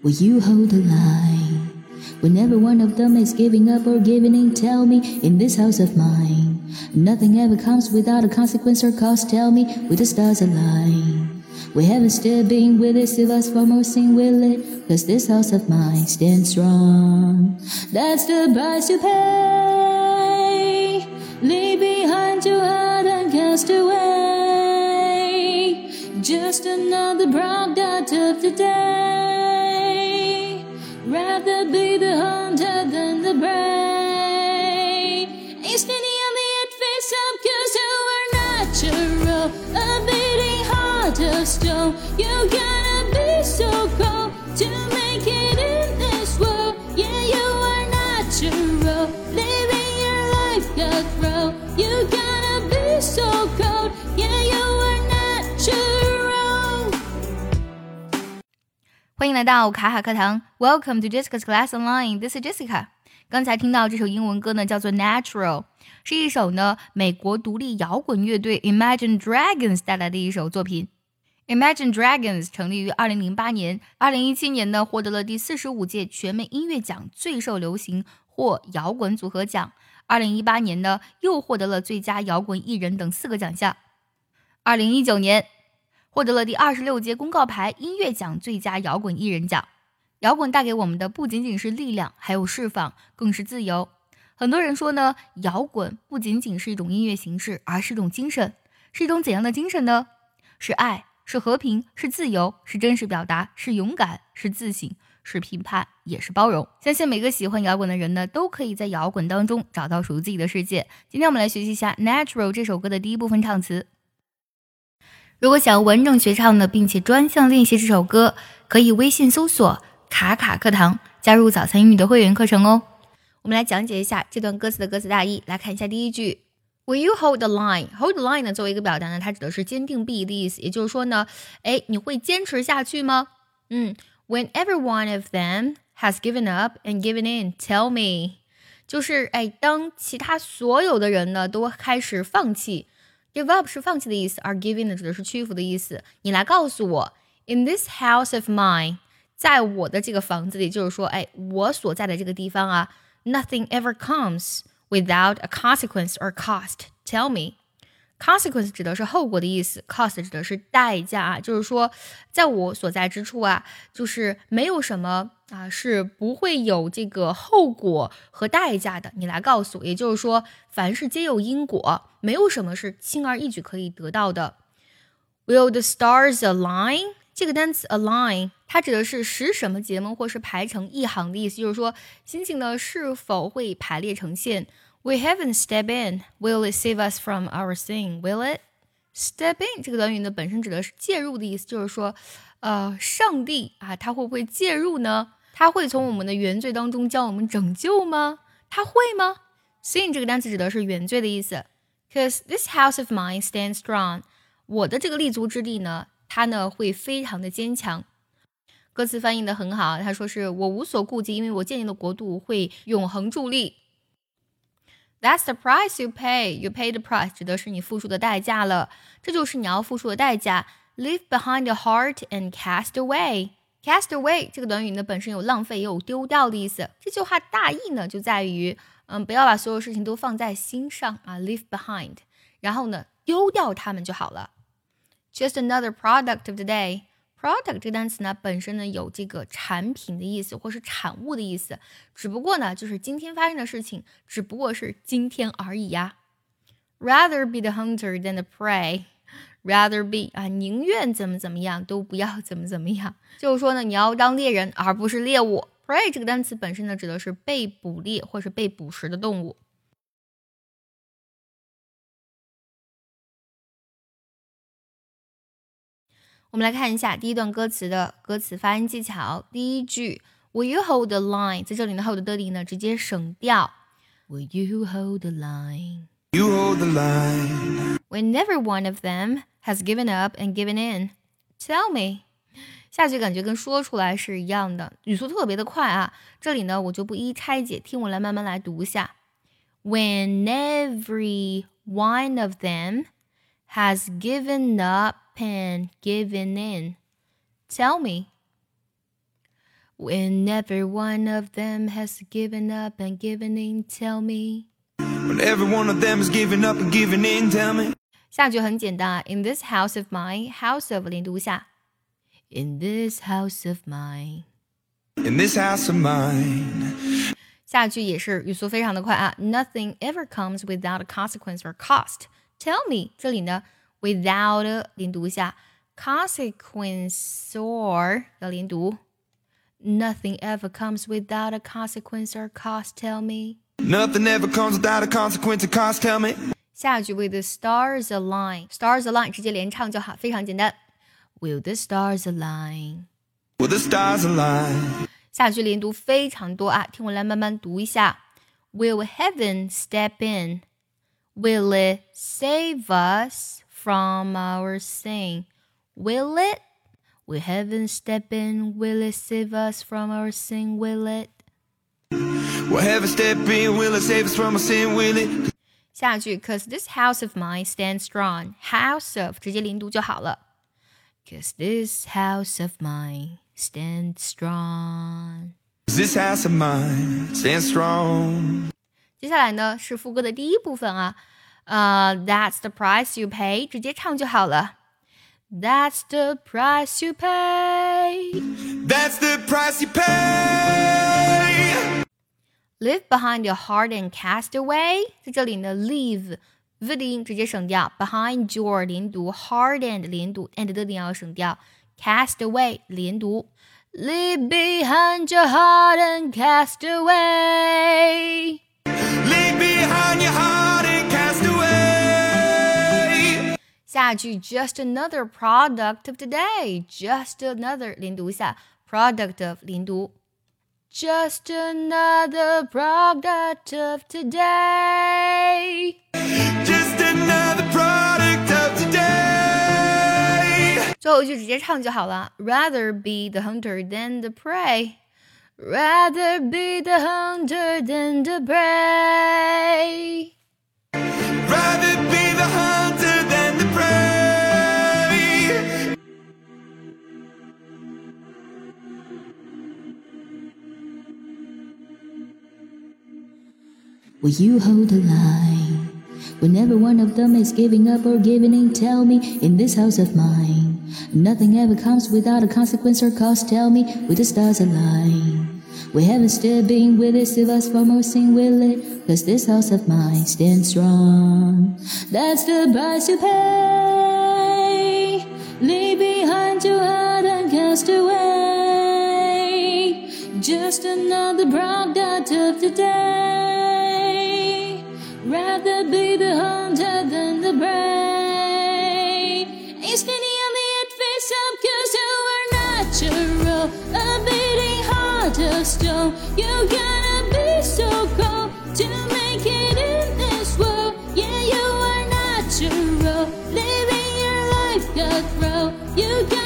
Will you hold the line? Whenever one of them is giving up or giving in, tell me, in this house of mine, nothing ever comes without a consequence or cost. Tell me, with the stars align, we haven't still been with it, still us for more sing will it, cause this house of mine stands strong. That's the price you pay, leave behind your heart and cast away, just another product of the day. Rather be the hunter than the prey. Ain't standing on the edge face up cause you are natural, a beating heart of stone. You gotta be so cold to make it in this world. Yeah, you are natural, living your life cutthroat. You gotta be so cold. Yeah, you are natural. 欢迎来到卡卡课堂 Welcome to Jessica's Class Online. This is Jessica. 刚才听到这首英文歌呢，叫做 Natural， 是一首呢美国独立摇滚乐队 Imagine Dragons 带来的一首作品。Imagine Dragons 成立于2008年 ,2017 年呢获得了第45届全美音乐奖最受流行或摇滚组合奖。2018年呢又获得了最佳摇滚艺人等4个奖项。2019年获得了第26届公告牌音乐奖最佳摇滚艺人奖。摇滚带给我们的不仅仅是力量，还有释放，更是自由。很多人说呢，摇滚不仅仅是一种音乐形式，而是一种精神。是一种怎样的精神呢？是爱，是和平，是自由，是真实表达，是勇敢，是自省，是评判，也是包容。相信每个喜欢摇滚的人呢，都可以在摇滚当中找到属于自己的世界。今天我们来学习一下 Natural 这首歌的第一部分唱词。如果想要完整学唱的，并且专项练习这首歌，可以微信搜索卡卡课堂，加入早餐英语的会员课程哦。我们来讲解一下这段歌词的歌词大意。来看一下第一句 Will you hold the line? Hold the line 呢，作为一个表达呢，它指的是坚定不移的意思。也就是说呢，你会坚持下去吗？When every one of them has given up and given in, tell me. 就是当其他所有的人呢都开始放弃。Give up 是放弃的意思，而 give in 呢指的是屈服的意思。你来告诉我 In this house of mine, 在我的这个房子里，就是说我所在的这个地方啊 Nothing ever comes without a consequence or cost. Tell me. Consequence 指的是后果的意思， cost 指的是代价啊，就是说在我所在之处啊，就是没有什么是不会有这个后果和代价的。你来告诉我，也就是说凡事皆有因果，没有什么是轻而易举可以得到的。Will the stars align? 这个单词 align 它指的是使什么结盟或是排成一行的意思，就是说星星呢是否会排列成线。We haven't stepped in. Will it save us from our sin? Will it? Step in 这个短语呢本身指的是介入的意思，就是说上帝他会不会介入呢？他会从我们的原罪当中将我们拯救吗？他会吗？ Sin 这个单词指的是原罪的意思。Cause this house of mine stands strong. 我的这个立足之地呢，它呢会非常的坚强。歌词翻译的很好，他说是我无所顾忌，因为我建立的国度会永恒伫立。That's the price you pay. You pay the price 指的是你付出的代价了，这就是你要付出的代价。Leave behind the heart and cast away. Cast away 这个短语呢本身有浪费也有丢掉的意思。这句话大意呢就在于不要把所有事情都放在心上leave behind， 然后呢丢掉它们就好了。Just another product of the day.Product 这个单词呢本身呢有这个产品的意思或是产物的意思，只不过呢就是今天发生的事情只不过是今天而已呀。Rather be the hunter than the prey. Rather be 宁愿怎么样都不要怎么样，就是说呢你要当猎人而不是猎物。Prey 这个单词本身呢指的是被捕猎或是被捕食的动物。我们来看一下第一段歌词的歌词发音技巧。第一句 Will you hold the line? 在这里呢 hold 的呢直接省掉。Will you hold the line? You hold the line. When every one of them has given up and given in. Tell me. 下句感觉跟说出来是一样的，语速特别的快啊。这里呢我就不一一拆解，听我来慢慢来读一下。When every one of them has given up and given in. Tell me. When every one of them has given up and given in, tell me. When every one of them is giving up and giving in, tell me. 下句很简单 In this house of mine, house of 连读下 In this house of mine. In this house of mine. 下句也是语速非常的快啊 Nothing ever comes without a consequence or cost. Tell me 这里呢 without 连读下 consequence or 要连读 Nothing ever comes without a consequence or cost. Tell me. Nothing ever comes without a consequence or cost. Tell me. 下句 With the stars align. Stars align 直接连唱就好，非常简单。Will the stars align? Will the stars align? 下句连读非常多啊，听我来慢慢读一下。Will heaven step in? Will it save us from our sin? Will it? Will heaven step in? Will it save us from our sin? Will it? Will heaven step in? Will it save us from our sin? Will it? 下句 Cause this house of mine stands strong. House of 直接连读就好了。Cause this house of mine stands strong. This house of mine stands strong. 接下来呢是副歌的第一部分啊。That's the price you pay. 直接唱就好了。That's the price you pay. That's the price you pay. Leave behind your heart and cast away. 在这里呢 leave v 的音直接省掉 behind your 连读 heart and 连读 and 的音要省掉 cast away 连读 Leave behind your heart and cast away. Leave behind your heart and cast away. 下句 just another product of today. Just another 连读一下 product of 连读Just another product of today. Just another product of today. 最后一句直接唱就好了 Rather be the hunter than the prey. Rather be the hunter than the prey. Rather be the hunter than the prey. Will you hold the line? Whenever one of them is giving up or giving in, tell me, in this house of mine, nothing ever comes without a consequence or cost. Tell me, with the stars align, we haven't still been with it, save us from our sin, will it? Cause this house of mine stands strong. That's the price you pay. Leave behind your heart and cast away. Just another product of the day. Rather be the hunter than the prey. It's funny on the end face up cause you are natural. A beating heart of stone. You gotta be so cold to make it in this world. Yeah, you are natural. Living your life cutthroat. You gotta